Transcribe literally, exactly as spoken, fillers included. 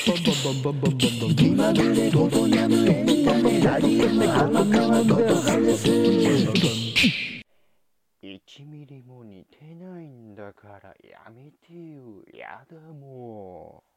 気まぐれごとやむエンタメラリウム天川ことはです。 いちミリも似てないんだからやめてよ。やだもう。